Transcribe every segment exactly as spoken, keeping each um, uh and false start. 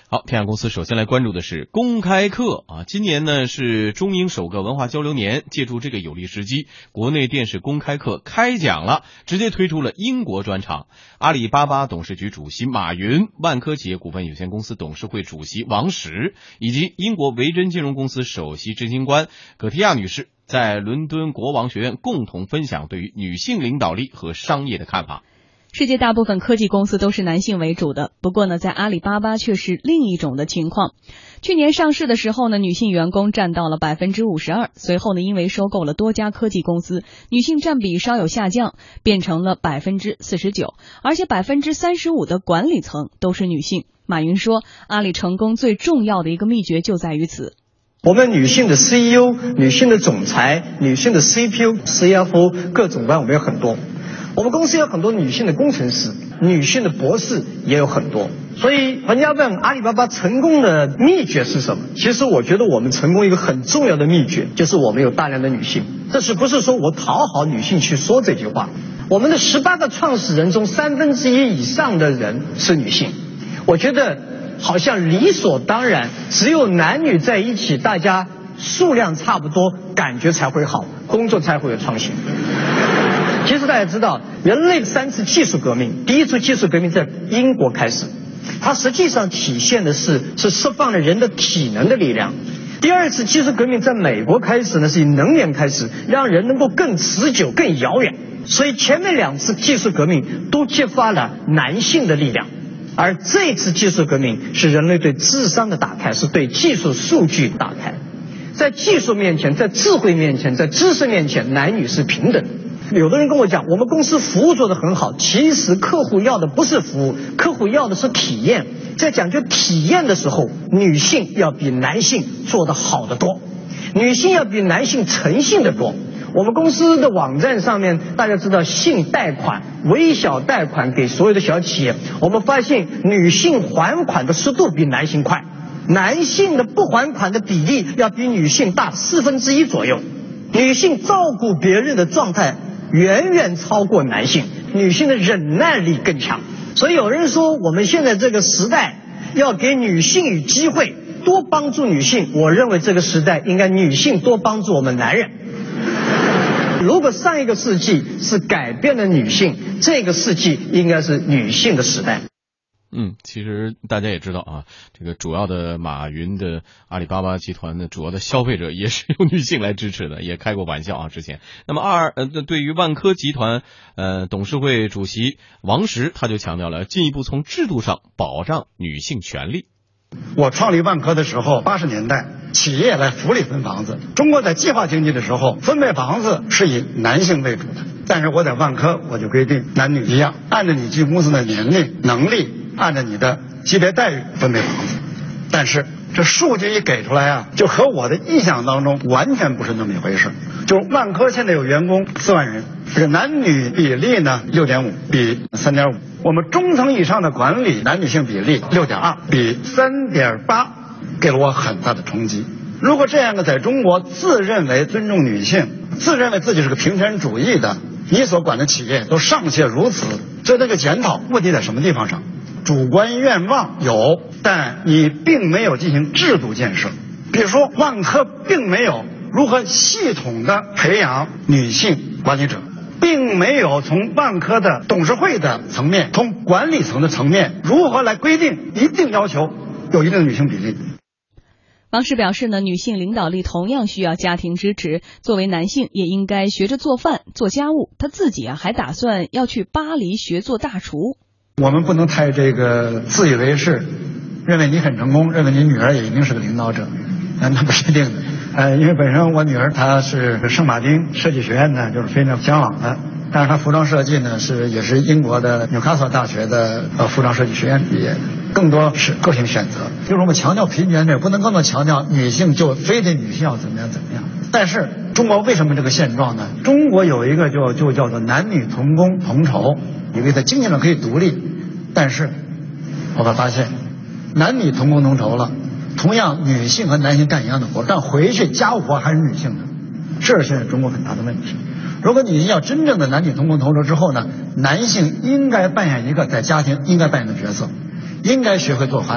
好，天下公司首先来关注的是公开课啊，今年呢是中英首个文化交流年，借助这个有利时机，国内电视公开课开讲了，直接推出了英国专场。阿里巴巴董事局主席马云、万科企业股份有限公司董事会主席王石以及英国维珍金融公司首席执行官葛提亚女士，在伦敦国王学院共同分享对于女性领导力和商业的看法。 世界大部分科技公司都是男性为主的，不过呢，在阿里巴巴却是另一种的情况。去年上市的时候呢，女性员工占到了百分之五十二，随后呢，因为收购了多家科技公司，女性占比稍有下降，变成了百分之四十九，而且百分之三十五的管理层都是女性。马云说，阿里成功最重要的一个秘诀就在于此。 我们女性的 C E O、女性的总裁、女性的 C P O、C F O 各种班我们有很多。我们公司有很多女性的工程师，女性的博士也有很多。所以人家问阿里巴巴成功的秘诀是什么？其实我觉得我们成功一个很重要的秘诀就是我们有大量的女性。这是不是说我讨好女性去说这句话？我们的十八个创始人中三分之一以上的人是女性。我觉得好像理所当然，只有男女在一起，大家数量差不多，感觉才会好，工作才会有创新。其实大家知道，人类三次技术革命，第一次技术革命在英国开始，它实际上体现的是是释放了人的体能的力量。第二次技术革命在美国开始呢，是以能源开始，让人能够更持久、更遥远。所以前面两次技术革命都激发了男性的力量，而这次技术革命是人类对智商的打开，是对技术数据打开。在技术面前，在智慧面前，在知识面前，男女是平等的。有的人跟我讲，我们公司服务做得很好，其实客户要的不是服务，客户要的是体验。在讲究体验的时候，女性要比男性做得好得多，女性要比男性诚信得多。我们公司的网站上面，大家知道信贷款、微小贷款给所有的小企业，我们发现女性还款的速度比男性快，男性的不还款的比例要比女性大四分之一左右，女性照顾别人的状态远远超过男性，女性的忍耐力更强。所以有人说我们现在这个时代要给女性以机会，多帮助女性。我认为这个时代应该女性多帮助我们男人。如果上一个世纪是改变了女性，这个世纪应该是女性的时代。 嗯，其实大家也知道啊，这个主要的马云的阿里巴巴集团的主要的消费者也是由女性来支持的，也开过玩笑啊。之前，那么二呃，对于万科集团呃董事会主席王石，他就强调了进一步从制度上保障女性权利。 我创立万科的时候，八十年代企业来福利分房子，中国在计划经济的时候分配房子是以男性为主的，但是我在万科我就规定男女一样，按照你进公司的年龄、能力，按照你的级别待遇分配房子。但是这数据一给出来啊，就和我的意想当中完全不是那么一回事。就万科现在有员工四万人，这个男女比例呢六点五比三点五，我们中层以上的管理男女性比例六点二比三点八，给了我很大的冲击。如果这样的在中国自认为尊重女性，自认为自己是个平权主义的，你所管的企业都尚且如此，这这个检讨问题在什么地方上？主观愿望有，但你并没有进行制度建设。比如说万科并没有如何系统的培养女性管理者，并没有从万科的董事会的层面，从管理层的层面，如何来规定一定要求有一定的女性比例。 王石表示呢，女性领导力同样需要家庭支持，作为男性也应该学着做饭、做家务。他自己啊还打算要去巴黎学做大厨。 我们不能太这个自以为是，认为你很成功，认为你女儿也一定是个领导者，那那不是一定的。呃，因为本身我女儿她是圣马丁设计学院呢，就是非常向往的，但是她服装设计呢是也是英国的纽卡斯尔大学的呃服装设计学院毕业的，更多是个性选择。就是我们强调平权这不能更多强调女性就非得女性要怎么样怎么样。但是中国为什么这个现状呢？中国有一个就就叫做男女同工同酬，因为在经济上可以独立，但是我们发现男女同工同酬了，同样女性和男性干一样的活，但回去家务活还是女性的，这是现在中国很大的问题。如果你要真正的男女同工同酬之后呢，男性应该扮演一个在家庭应该扮演的角色，应该学会做饭，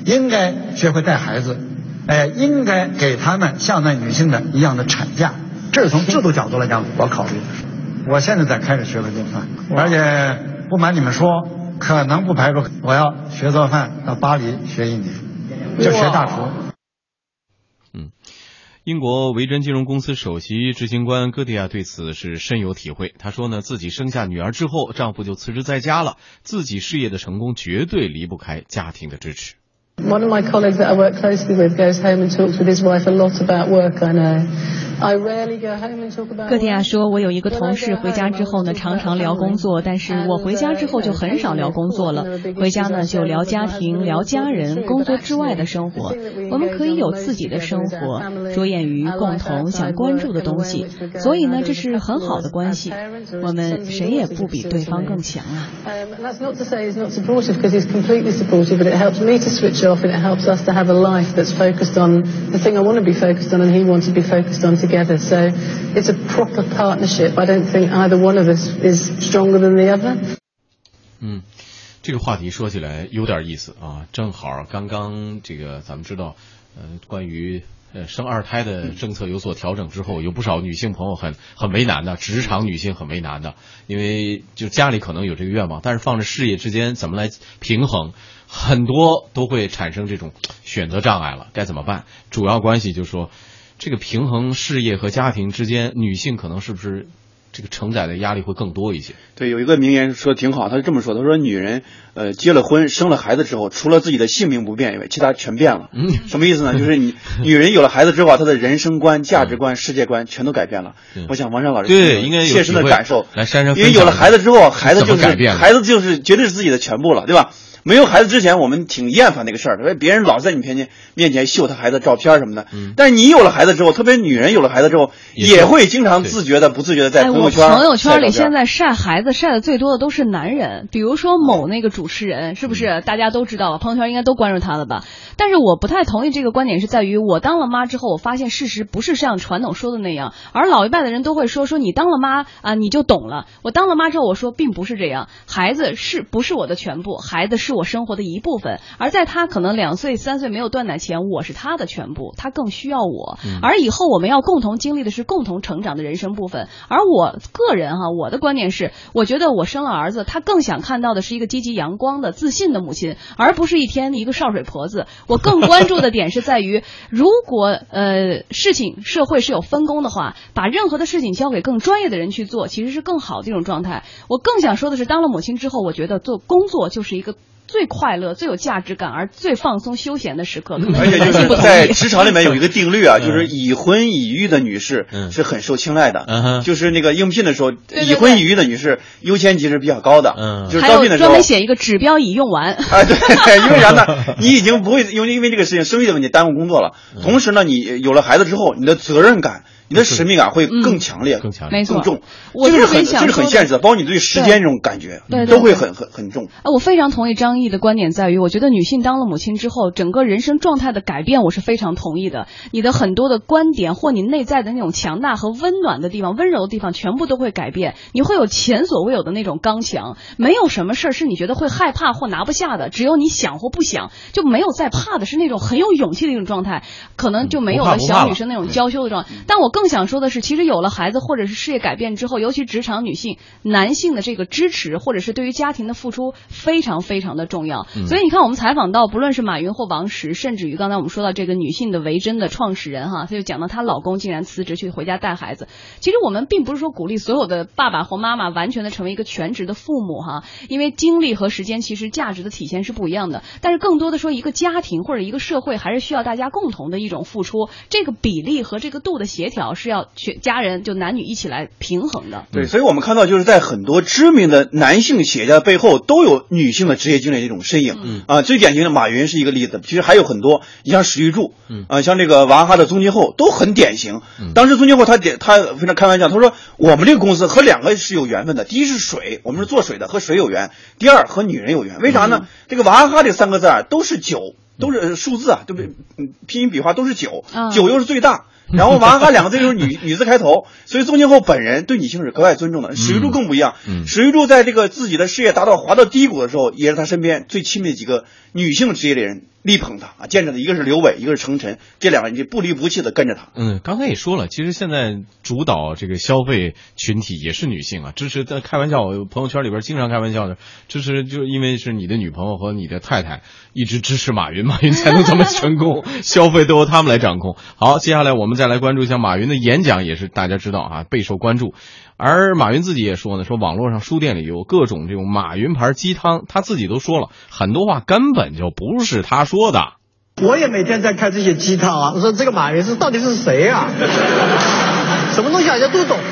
应该学会带孩子，哎，应该给他们像那女性的一样的产假。这是从制度角度来讲我考虑的。我现在在开始学会做饭，而且不瞒你们说，可能不排除我要学做饭到巴黎学一年，就学大厨。 嗯，英国维珍金融公司首席执行官戈迪亚对此是深有体会。他说呢，自己生下女儿之后，丈夫就辞职在家了，自己事业的成功绝对离不开家庭的支持。 One of my colleagues that I work closely with goes home and talks with his wife a lot about work, I know. I rarely go home and talk about work. 戈迪亚说，我有一个同事回家之后呢，常常聊工作，但是我回家之后就很少聊工作了。回家呢就聊家庭，聊家人，工作之外的生活。我们可以有自己的生活，着眼于共同想关注的东西，所以呢，这是很好的关系。我们谁也不比对方更强啊。 Um, that's not to say he's not supportive, because he's completely supportive, but it helps me to switch off and it helps us to have a life that's focused on the thing I want to be focused on and he wants to be focused on together. So it's a proper partnership. I don't think either one of us is stronger than the other. 嗯，这个话题说起来有点意思啊，正好刚刚这个咱们知道，呃，关于呃生二胎的政策有所调整之后，有不少女性朋友很很为难的，职场女性很为难的，因为就家里可能有这个愿望，但是放着事业之间怎么来平衡，很多都会产生这种选择障碍了，该怎么办？主要关系就是说，这个平衡事业和家庭之间，女性可能是不是这个承载的压力会更多一些？ 对，有一个名言说挺好，他是这么说，他说女人呃结了婚生了孩子之后，除了自己的性命不变以外，其他全变了。嗯，什么意思呢？就是你女人有了孩子之后，她的人生观、价值观、世界观全都改变了。嗯、我想王山老师对应该有切身的感受， 来珊珊， 因为有了孩子之后，孩子就是孩子就是绝对是自己的全部了，对吧？没有孩子之前，我们挺厌烦那个事儿的，别人老在你面前面前秀他孩子照片什么的。嗯，但是你有了孩子之后，特别女人有了孩子之后，也会经常自觉的、不自觉的在朋友圈、 哎、朋友圈里现在晒孩子晒的最多的都是男人，比如说某那个主持人，是不是大家都知道？朋友圈应该都关注他了吧？但是我不太同意这个观点，是在于我当了妈之后，我发现事实不是像传统说的那样，而老一辈的人都会说说你当了妈啊，你就懂了。我当了妈之后，我说并不是这样，孩子是不是我的全部？孩子是我生活的一部分，而在他可能两岁三岁没有断奶前，我是他的全部，他更需要我。而以后我们要共同经历的是共同成长的人生部分。而我个人哈，我的观点是，我觉得我生了儿子，他更想看到的是一个积极阳光的自信的母亲，而不是一天一个少水婆子。我更关注的点是在于，如果呃事情社会是有分工的话，把任何的事情交给更专业的人去做，其实是更好的一种状态。我更想说的是，当了母亲之后，我觉得做工作就是一个最快乐、最有价值感而最放松休闲的时刻。 而且就是在职场里面有一个定律啊，就是已婚已育的女士是很受青睐的。嗯，就是那个应聘的时候，已婚已育的女士优先级是比较高的。嗯，就是招聘的时候专门写一个指标已用完。 啊，对，因为啥呢？你已经不会因为因为这个事情生育的问题耽误工作了。同时呢，你有了孩子之后，你的责任感、你的使命感会更强烈、 更强烈、 更重。 我这个是很这是很现实的，包括你对时间这种感觉，都会很很很重。 啊，我非常同意张毅的观点，在于我觉得女性当了母亲之后，整个人生状态的改变，我是非常同意的。你的很多的观点或你内在的那种强大和温暖的地方、温柔的地方，全部都会改变。你会有前所未有的那种刚强，没有什么事儿是你觉得会害怕或拿不下的，只有你想或不想，就没有再怕的，是那种很有勇气的一种状态，可能就没有了小女生那种娇羞的状态。但我更想说的是，其实有了孩子或者是事业改变之后，尤其职场女性、男性的这个支持或者是对于家庭的付出非常非常的重要。嗯、所以你看，我们采访到不论是马云或王石，甚至于刚才我们说到这个女性的维珍的创始人哈，她就讲到她老公竟然辞职去回家带孩子。其实我们并不是说鼓励所有的爸爸或妈妈完全的成为一个全职的父母哈，因为精力和时间其实价值的体现是不一样的。但是更多的说，一个家庭或者一个社会还是需要大家共同的一种付出，这个比例和这个度的协调是要全家人就男女一起来平衡的。 对，所以我们看到就是在很多知名的男性企业家背后都有女性的职业经理这种身影。嗯啊，最典型的马云是一个例子，其实还有很多，你像史玉柱，嗯啊，像这个娃哈哈的宗庆后都很典型。嗯、当时宗庆后他点他非常开玩笑，他说我们这个公司和两个是有缘分的，第一是水，我们是做水的，和水有缘；第二和女人有缘。为啥呢？嗯、这个娃哈哈这三个字啊，都是九，都是数字啊，对不对？拼音笔画都是九，嗯、九又是最大。 然后娃哈哈两个字就是女女字开头，所以宗庆后本人对女性是格外尊重的。史玉柱更不一样， 嗯， 史玉柱在这个自己的事业达到滑到低谷的时候，也是他身边最亲密的几个女性职业的人力捧他啊，见着的一个是刘伟，一个是程晨，这两个人就不离不弃的跟着他。 嗯，刚才也说了，其实现在主导这个消费群体也是女性啊，支持在开玩笑，我朋友圈里边经常开玩笑的，支持就是因为是你的女朋友和你的太太一直支持马云，马云才能这么成功，消费都由他们来掌控。好，接下来我们再来关注一下马云的演讲，也是大家知道啊，备受关注。而马云自己也说呢，说网络上书店里有各种这种马云牌鸡汤，他自己都说了很多话根本就不是他说的。 我也每天在看这些鸡汤啊，我说这个马云是到底是谁啊？什么东西好像都懂。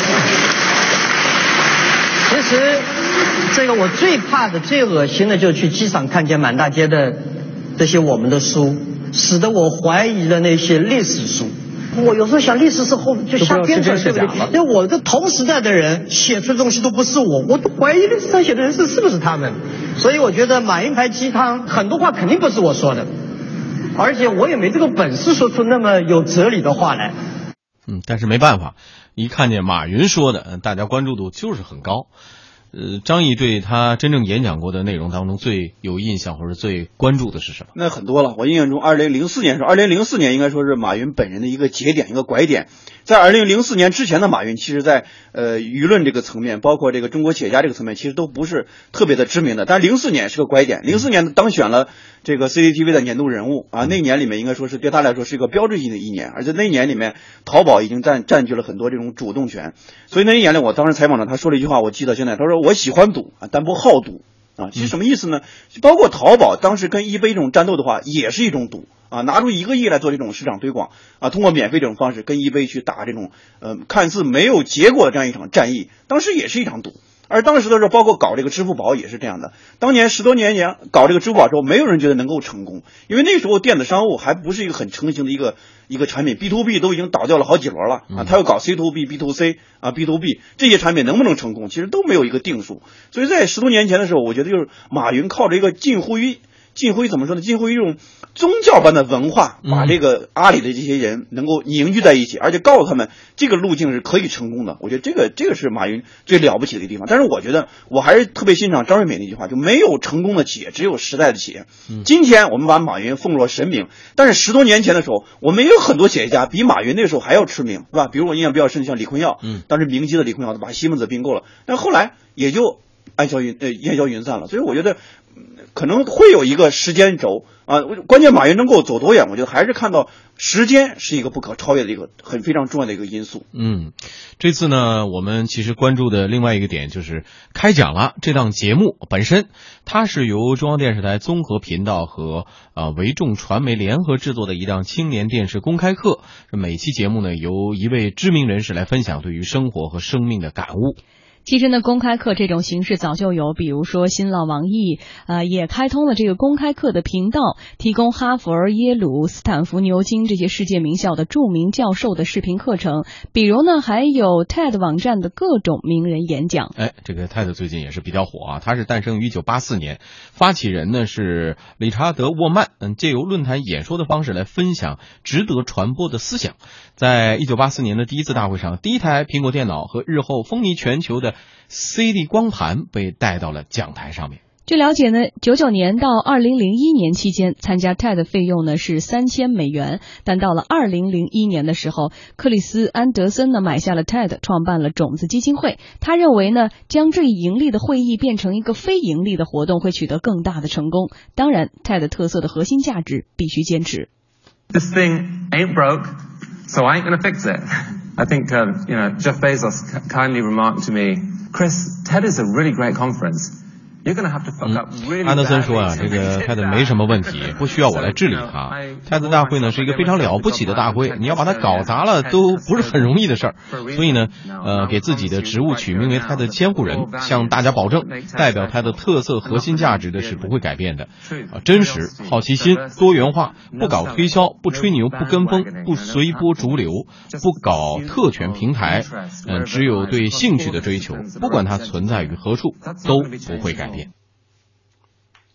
其实这个我最怕的、最恶心的，就是去机场看见满大街的这些我们的书，使得我怀疑了那些历史书。我有时候想，历史是后就瞎编出来，对不对？因为我的同时代的人写出的东西都不是我，我都怀疑历史上写的人是是不是他们。所以我觉得马云牌鸡汤很多话肯定不是我说的，而且我也没这个本事说出那么有哲理的话来。 嗯，但是没办法，一看见马云说的，大家关注度就是很高。呃，张毅对他真正演讲过的内容当中最有印象或者最关注的是什么？ 那很多了，我印象中，二零零四年是二零零四年应该说是马云本人的一个节点，一个拐点。在二零零四年之前的马云，其实在呃舆论这个层面，包括这个中国企业家这个层面，其实都不是特别的知名的。但是零四年是个拐点，零四年当选了这个 C C T V 的年度人物啊，那一年里面应该说是对他来说是一个标志性的一年，而且那一年里面淘宝已经占占据了很多这种主动权。所以那一年里，我当时采访了他，说了一句话，我记得现在，他说我喜欢赌啊，但不好赌啊。其实什么意思呢？包括淘宝当时跟eBay这种战斗的话，也是一种赌啊，拿出一个亿来做这种市场推广啊，通过免费这种方式跟eBay去打这种呃看似没有结果的这样一场战役，当时也是一场赌。而当时的时候，包括搞这个支付宝也是这样的。当年十多年前搞这个支付宝的时候，没有人觉得能够成功，因为那时候电子商务还不是一个很成型的一个一个产品 ，B to B 都已经倒掉了好几轮了啊。他要搞 C to B、B to C 啊、B to B 这些产品能不能成功，其实都没有一个定数。所以在十多年前的时候，我觉得就是马云靠着一个近乎于近乎于怎么说呢？近乎于一种宗教般的文化，把这个阿里的这些人能够凝聚在一起，而且告诉他们这个路径是可以成功的。我觉得这个这个是马云最了不起的一个地方。但是我觉得我还是特别欣赏张瑞敏那句话，就没有成功的企业，只有时代的企业。今天我们把马云奉若神明，但是十多年前的时候，我们也有很多企业家比马云那个时候还要知名，是吧？比如我印象比较深的像李坤耀，嗯，当时明基的李坤耀把西门子并购了，但后来也就烟消云呃烟消云散了。所以我觉得可能会有一个时间轴啊，关键马云能够走多远，我觉得还是看到时间是一个不可超越的一个很非常重要的一个因素。 嗯，这次呢，我们其实关注的另外一个点就是开讲了这档节目本身，它是由中央电视台综合频道和呃维众传媒联合制作的一档青年电视公开课。每期节目呢，由一位知名人士来分享对于生活和生命的感悟。 其实呢，公开课这种形式早就有，比如说新浪、网易，呃，也开通了这个公开课的频道，提供哈佛、耶鲁、斯坦福、牛津这些世界名校的著名教授的视频课程。比如呢，还有 T E D 网站的各种名人演讲。 哎，这个 T E D 最近也是比较火啊，它是诞生于一九八四年，发起人呢是理查德·沃曼，嗯，借由论坛演说的方式来分享值得传播的思想。在一九八四年的第一次大会上，第一台苹果电脑和日后风靡全球的 C D 光盘被带到了讲台上面。 据了解呢，九九年到二零零一年期间，参加 T E D 费用呢是三千美元，但到了二零零一年的时候，克里斯·安德森呢买下了 T E D， 创办了种子基金会。他认为呢，将这一盈利的会议变成一个非盈利的活动，会取得更大的成功。当然 ，T E D 特色的核心价值必须坚持。 This thing ain't broke, so I ain't gonna fix it. I think, uh, you know, Jeff Bezos kindly remarked to me, Chris, T E D is a really great conference. You're gonna have to fuck up really badly. 安德森说啊，这个 T E D 没什么问题，不需要我来治理它。T E D 大会呢是一个非常了不起的大会，你要把它搞砸了都不是很容易的事儿。所以呢，呃，给自己的职务取名为T E D监护人，向大家保证，代表它的特色核心价值的是不会改变的。啊，真实、好奇心、多元化，不搞推销，不吹牛，不跟风，不随波逐流，不搞特权平台，嗯、呃，只有对兴趣的追求，不管它存在于何处，都不会改变。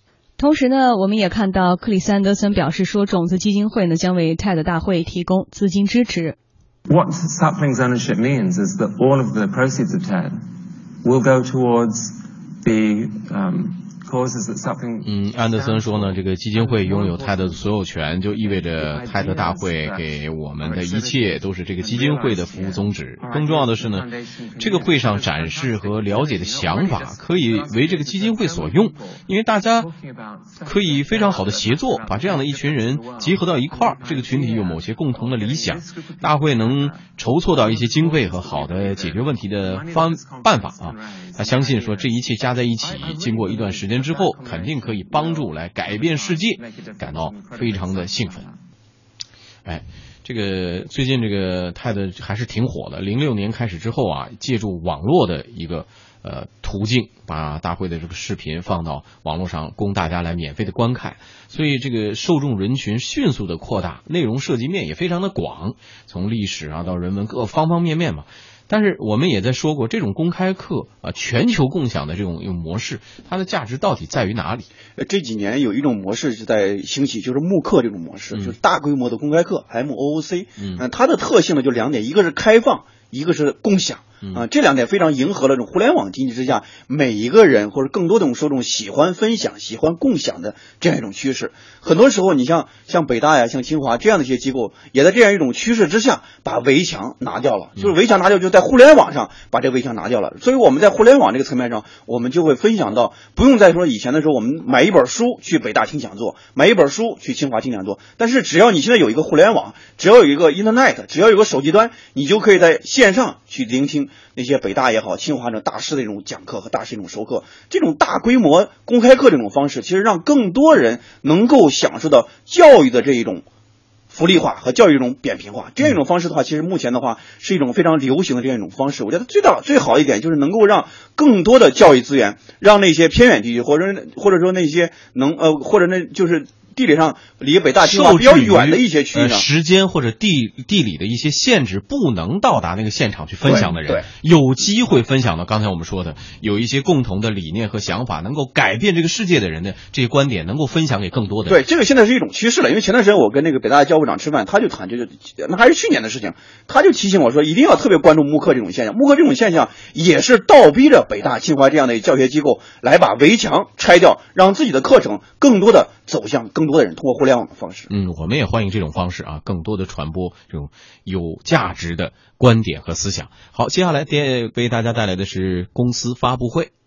同时呢，我们也看到克里斯安德森表示说，种子基金会呢将为 T E D 大会提供资金支持。 What saplings ownership means is that all of the proceeds of T E D will go towards the um, causes that sapling. 嗯，安德森说呢，这个基金会拥有 T E D 的所有权，就意味着 T E D 大会给我们的一切都是这个基金会的服务宗旨。更重要的是呢，这个会上展示和了解的想法可以为这个基金会所用，因为大家可以非常好的协作，把这样的一群人结合到一块儿，这个群体有某些共同的理想，大会能筹措到一些经费和好的解决问题的方办法啊。他相信说这一切加在一起，经过一段时间之后，肯定可以帮助来改变世界，感到非常的兴奋。哎，这个最近这个 T E D 还是挺火的。零六年开始之后啊，借助网络的一个呃途径，把大会的这个视频放到网络上，供大家来免费的观看。所以这个受众人群迅速的扩大，内容涉及面也非常的广，从历史啊到人文各方方面面嘛。但是我们也在说过，这种公开课啊，全球共享的这种模式，它的价值到底在于哪里？ 这几年有一种模式是在兴起，就是慕课这种模式，嗯、就是大规模的公开课 M O O C。嗯、呃，它的特性呢就两点，一个是开放，一个是共享。啊，这两点非常迎合了这种互联网经济之下每一个人或者更多的受众喜欢分享、喜欢共享的这样一种趋势。很多时候，你像像北大呀、像清华这样的一些机构，也在这样一种趋势之下把围墙拿掉了。就是围墙拿掉，就在互联网上把这围墙拿掉了。所以我们在互联网这个层面上，我们就会分享到，不用再说以前的时候，我们买一本书去北大听讲座，买一本书去清华听讲座。但是只要你现在有一个互联网，只要有一个 Internet， 只要有个手机端，你就可以在线上去聆听那些北大也好、清华这种大师的这种讲课和大师这种授课，这种大规模公开课这种方式，其实让更多人能够享受到教育的这一种福利化和教育这种扁平化。这样一种方式的话，其实目前的话是一种非常流行的这样一种方式。我觉得最大最好一点就是能够让更多的教育资源，让那些偏远地区或者或者说那些能呃或者那就是地理上离北大清华比较远的一些区域上， 呃、时间或者地地理的一些限制，不能到达那个现场去分享的人，有机会分享到刚才我们说的有一些共同的理念和想法，能够改变这个世界的人的这些观点，能够分享给更多的人。 对，这个现在是一种趋势了。因为前段时间我跟那个北大的教务长吃饭，他就谈这个，那还是去年的事情，他就提醒我说，一定要特别关注慕课这种现象。慕课这种现象也是倒逼着北大、清华这样的教学机构来把围墙拆掉，让自己的课程更多的走向更多的人，通过互联网的方式。 嗯，我们也欢迎这种方式啊，更多的传播这种有价值的观点和思想。好，接下来为大家带来的是公司发布会。